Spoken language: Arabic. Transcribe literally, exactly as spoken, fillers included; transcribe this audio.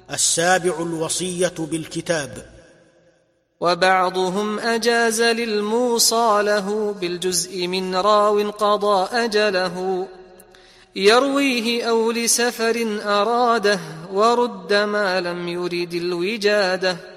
السابع الوصية بالكتاب. وبعضهم أجاز للموصى له بالجزء من راو قضى أجله يرويه أو لسفر أراده ورد ما لم يرد الوجاده